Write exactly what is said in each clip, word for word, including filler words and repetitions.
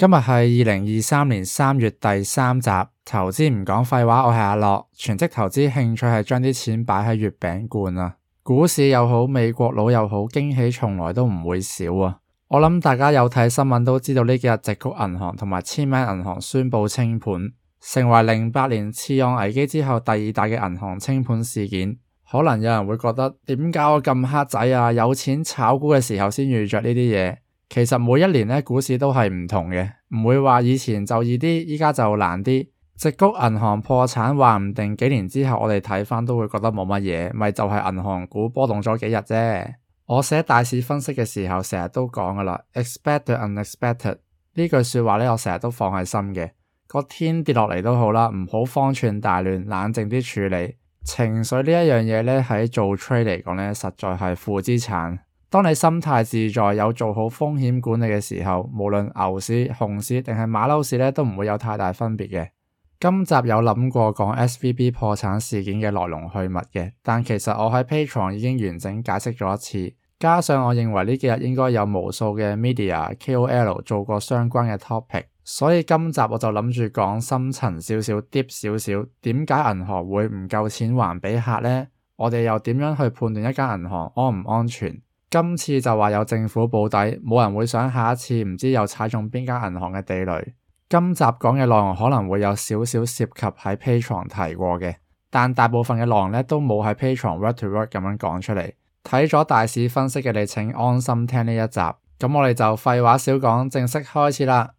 今日係二零二三年三月第三集，投資唔講廢話，我係阿樂，全職投資興趣係將啲錢擺喺月餅罐啊。股市又好，美國佬又好，驚喜從來都唔會少啊。我諗大家有睇新聞都知道呢幾日矽谷銀行同埋千萬銀行宣布清盤，成為零八年次按危機之後第二大嘅銀行清盤事件。可能有人會覺得點解我咁黑仔啊？有錢炒股嘅時候先遇着呢啲嘢。其實每一年咧股市都係唔同嘅，唔會話以前就易啲，依家就難啲。矽谷銀行破產，話唔定幾年之後我哋睇返都會覺得冇乜嘢，咪就係銀行股波動咗幾日啫。我寫大市分析嘅時候成日都講噶啦 ，expect the unexpected 呢句說話咧，我成日都放喺心嘅。個天跌落嚟都好啦，唔好方寸大亂，冷靜啲處理。情緒呢一樣嘢咧，喺做 trade 嚟講咧，實在係負資產。當你心態自在，有做好風險管理嘅時候，無論牛市、熊市定係馬騮市咧，都唔會有太大分別嘅。今集有諗過講 S V B 破產事件嘅來龍去脈嘅，但其實我喺 Patreon 已經完整解釋咗一次，加上我認為呢幾日應該有無數嘅 media K O L 做過相關嘅 topic， 所以今集我就諗住講深層少少 deep 少少，點解銀行會唔夠錢還俾客呢？我哋又點樣去判斷一間銀行安唔安全？今次就話有政府保底，冇人會想下一次唔知又踩中邊間銀行嘅地雷。今集講嘅內容可能會有少少涉及喺 Patreon 提過嘅，但大部分嘅內容咧都冇喺 Patreon word to word 咁樣講出嚟。睇咗大市分析嘅你請安心聽呢一集。咁我哋就廢話少講，正式開始啦。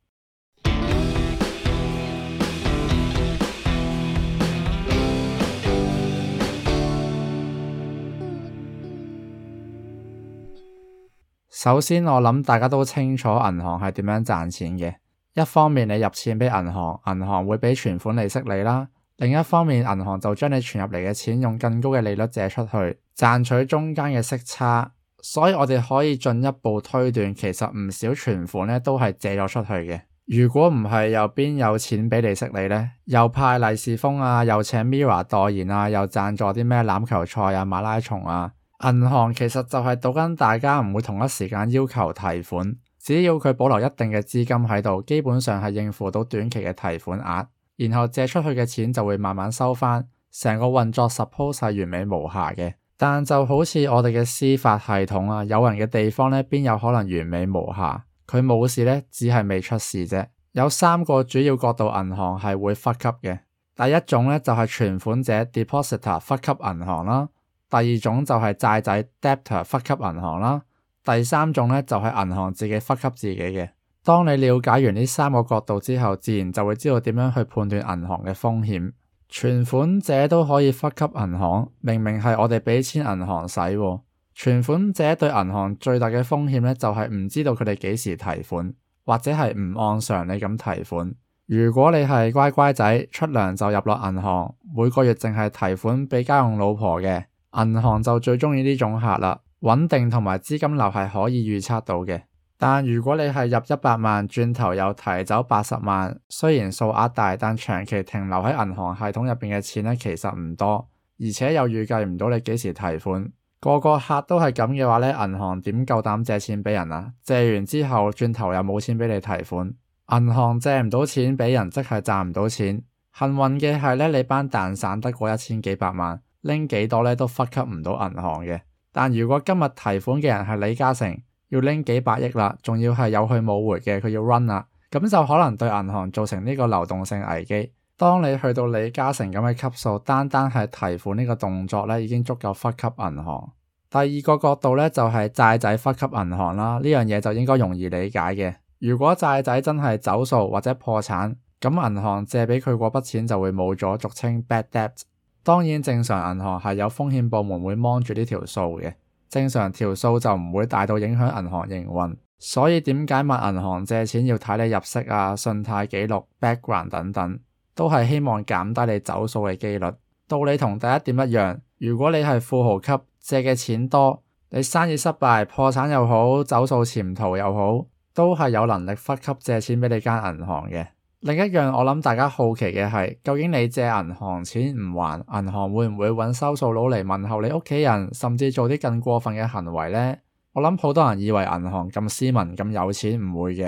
首先我諗大家都清楚銀行係點樣賺錢嘅。一方面你入錢俾銀行，銀行會俾存款利息你啦；另一方面銀行就將你存入嚟嘅錢用更高嘅利率借出去，賺取中間嘅息差。所以我哋可以進一步推斷，其實唔少存款咧都係借咗出去嘅。如果唔係，又邊有錢俾利息你呢？又派利是封啊，又請 Mirror 代言啊，又贊助啲咩欖球賽啊、馬拉松啊。銀行其實就係賭緊大家唔會同一時間要求提款，只要佢保留一定嘅資金喺度，基本上係應付到短期嘅提款額，然後借出去嘅錢就會慢慢收返，成個運作 suppose 係完美無瑕嘅。但就好似我哋嘅司法系統啊，有人嘅地方咧，邊有可能完美無瑕？佢冇事咧，只係未出事啫。有三個主要角度銀行係會 fuck up 嘅。第一種咧就係存款者 depositor fuck up 銀行啦。第二種就係債仔 debtor fuck up 銀行啦，第三種咧就係銀行自己 fuck up 自己嘅。當你了解完呢三個角度之後，自然就會知道點樣去判斷銀行嘅風險。存款者都可以 fuck up 銀行，明明係我哋俾錢銀行使喎。存款者對銀行最大嘅風險咧就係唔知道佢哋幾時提款，或者係唔按常理咁提款。如果你係乖乖仔，出糧就入落銀行，每個月淨係提款俾家用老婆嘅，銀行就最鍾意呢種客啦，穩定同埋資金流係可以預測到嘅。但如果你係入一百萬，轉頭又提走八十萬，雖然數額大，但長期停留喺銀行系統入邊嘅錢咧，其實唔多，而且又預計唔到你幾時提款。個個客都係咁嘅話咧，銀行點夠膽借錢俾人啊？借完之後轉頭又冇錢俾你提款，銀行借唔到錢俾人，即係賺唔到錢。幸運嘅係咧，你班蛋散得過一千幾百萬。拎幾多咧都 fuck up 唔到銀行嘅，但如果今日提款嘅人係李嘉誠，要拎幾百億啦，仲要係有去冇回嘅，佢要 run 啦，咁就可能對銀行造成呢個流動性危機。當你去到李嘉誠咁嘅級數，單單係提款呢個動作咧，已經足夠 fuck up 銀行。第二個角度咧就係債仔 fuck up 銀行啦，呢樣嘢就應該容易理解嘅。如果債仔真係走數或者破產，咁銀行借俾佢嗰筆錢就會冇咗，俗稱 bad debt。當然正常銀行係有風險部門會 mon 住呢條數嘅，正常條數就唔會大到影響銀行營運。所以點解問銀行借錢要睇你入息啊、信貸記錄、background 等等，都係希望減低你走數嘅機率。道理同第一點一樣，如果你係富豪級，借嘅錢多，你生意失敗、破產又好、走數潛逃又好，都係有能力忽級借錢俾你間銀行嘅。另一樣我諗大家好奇嘅係，究竟你借銀行錢唔還，銀行會唔會揾收數佬嚟問候你屋企人，甚至做啲更過分嘅行為呢？我諗好多人以為銀行咁斯文咁有錢，唔會嘅。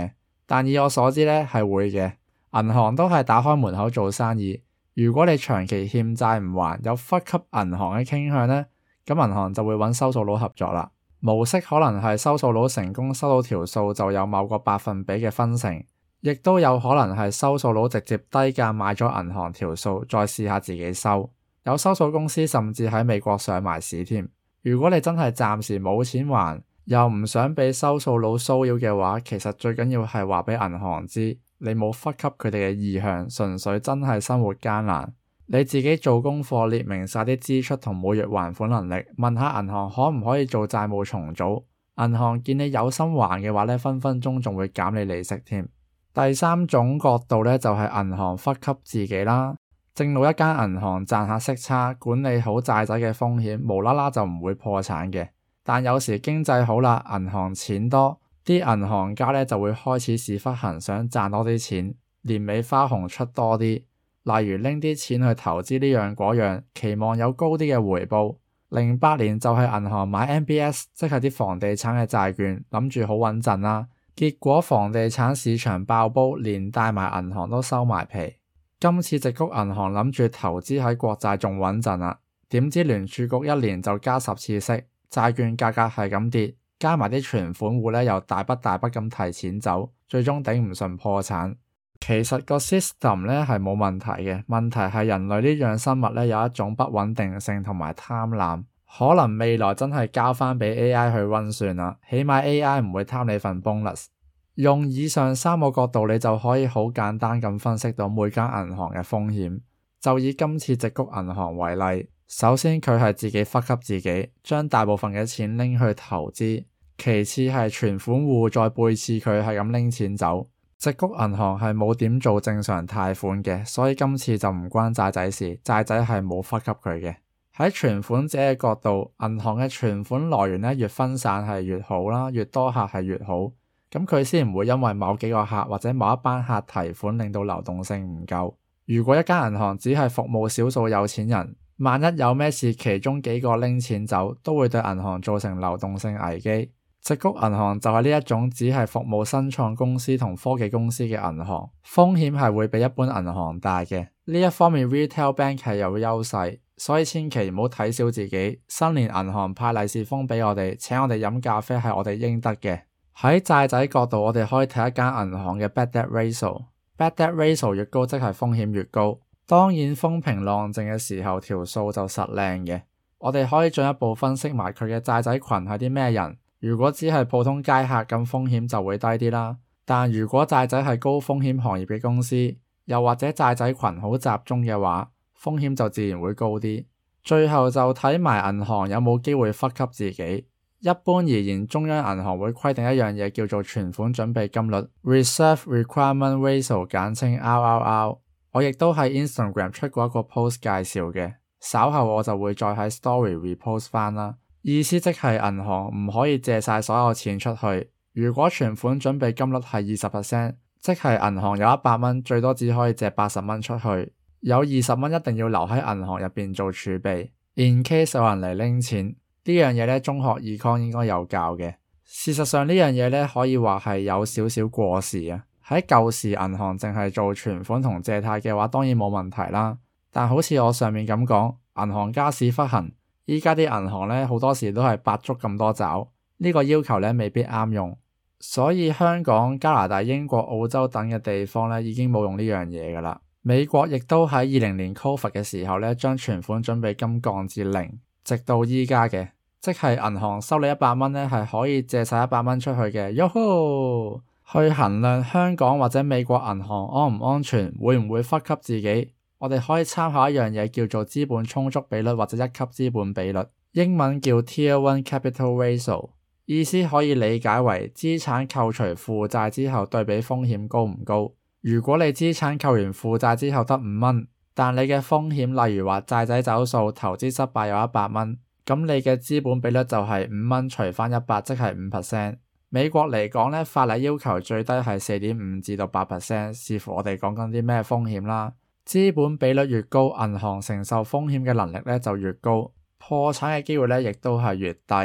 但以我所知呢係會嘅，銀行都係打開門口做生意。如果你長期欠債唔還，有忽級銀行嘅傾向呢，咁銀行就會揾收數佬合作啦。模式可能係收數佬成功收到條數就有某個百分比嘅分成，亦都有可能係收數佬直接低價買咗銀行條數，再試下自己收。有收數公司甚至喺美國上埋市添。如果你真係暫時冇錢還，又唔想俾收數佬騷擾嘅話，其實最緊要係話俾銀行知，你冇忽級佢哋嘅意向，純粹真係生活艱難。你自己做功課，列明晒啲支出同每月還款能力，問下銀行可唔可以做債務重組。銀行見你有心還嘅話呢，分分鐘仲會減你利息添。第三種角度呢，就係銀行忽級自己啦。正路一間銀行賺下息差，管理好債仔嘅風險，無啦啦就唔會破產嘅。但有時經濟好啦，銀行錢多，啲銀行家呢就會開始屎忽痕，想賺多啲錢，年尾花紅出多啲。例如拎啲錢去投資呢樣嗰樣，期望有高啲嘅回報。零八年就係銀行買 M B S， 即係啲房地產嘅債券，諗住好穩陣啦。結果房地產市場爆煲，連帶埋銀行都收埋皮。今次矽谷銀行諗住投資喺國債仲穩陣啦，點知聯儲局一年就加十次息，債券價格係咁跌，加埋啲存款戶呢又大筆大筆咁提錢走，最終頂唔順破產。其實個 system 呢係冇問題嘅，問題係人類呢樣生物呢有一種不穩定性同埋貪婪，可能未來真係交翻俾 A I 去溫算啦，起碼 A I 唔會貪你份 bonus。用以上三個角度，你就可以好簡單咁分析到每間銀行嘅風險。就以今次矽谷銀行為例，首先佢係自己忽級自己，將大部分嘅錢拎去投資，其次係存款戶再背刺佢係咁拎錢走。矽谷銀行係冇點做正常貸款嘅，所以今次就唔關債仔事，債仔係冇忽級佢嘅。喺存款者嘅角度，銀行嘅存款來源呢越分散係越好啦，越多客係越好，咁佢先唔會因為某幾個客或者某一班客提款令到流動性唔夠。如果一間銀行只係服務少數有錢人，萬一有咩事其中幾個拎錢走，都會對銀行造成流動性危機。矽谷銀行就係呢一種只係服務新創公司同科技公司嘅銀行，風險係會比一般銀行大嘅。呢一方面 Retail Bank 係有優勢，所以千祈唔好睇小自己。新年銀行派利是封俾我哋，請我哋飲咖啡係我哋應得嘅。喺債仔角度，我哋可以睇一間銀行嘅 Bad Debt Ratio。Bad Debt Ratio 越高，即係風險越高。當然風平浪靜嘅時候，條數就實靚嘅。我哋可以進一步分析埋佢嘅債仔群係啲咩人。如果只係普通街客，咁風險就會低啲啦。但如果債仔係高風險行業嘅公司，又或者債仔群好集中嘅話，風險就自然會高啲。最後就睇埋銀行有冇機會忽級自己。一般而言，中央銀行會規定一樣嘢叫做存款準備金率 （Reserve Requirement Ratio），簡稱 R R R。我亦都喺 Instagram 出過一個 post 介紹嘅，稍後我就會再喺 Story repost 翻啦。意思即係銀行唔可以借晒所有錢出去。如果存款準備金率係二十 percent， 即係銀行有一百蚊，最多只可以借八十蚊出去，有二十蚊一定要留喺銀行入邊做儲備 ，in case 有人嚟拎錢。呢樣嘢咧，中學 Econ 應該有教嘅。事實上呢樣嘢咧，可以話係有少少過時啊。喺舊時銀行淨係做存款同借貸嘅話，當然冇問題啦。但好似我上面咁講，銀行家屎忽痕。依家啲銀行咧，好多時都係百足咁多爪，呢個要求咧未必啱用，所以香港、加拿大、英國、澳洲等嘅地方咧已經冇用呢樣嘢噶啦。美國亦都喺二零年 Covid 嘅時候咧，將存款準備金降至零，直到依家嘅，即係銀行收你一百蚊咧，係可以借晒一百蚊出去嘅。喲吼！去衡量香港或者美國銀行安唔安全，會唔會忽級自己？我哋可以參考一樣嘢叫做資本充足比率或者一級資本比率，英文叫 Tier one Capital Ratio， 意思可以理解為資產扣除負債之後對比風險高唔高。如果你資產扣完負債之後得五蚊，但你嘅風險例如話債仔走數、投資失敗有一百蚊，咁你嘅資本比率就係五蚊除翻一百，即係五 percent。美國嚟講咧，法例要求最低係四點五至到八 percent， 視乎我哋講緊啲咩風險啦。資本比率越高，銀行承受風險嘅能力咧就越高，破產嘅機會咧亦都係越低。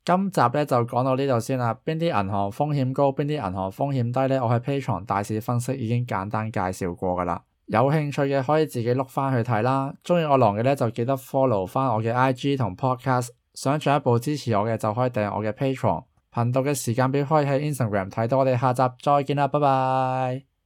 今集咧就講到呢度先啦。邊啲銀行風險高，邊啲銀行風險低咧？我喺 Patreon 大市分析已經簡單介紹過噶啦。有興趣嘅可以自己碌翻去睇啦。鍾意我郎嘅咧就記得 follow 翻我嘅 I G 同 Podcast。想進一步支持我嘅就可以訂閱我嘅 Patreon。頻道嘅時間表可以喺 Instagram 睇到。我哋下集再見啦，拜拜。